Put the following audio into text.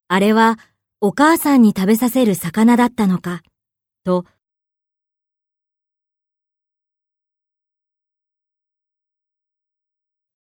あれはお母さんに食べさせる魚だったのか、と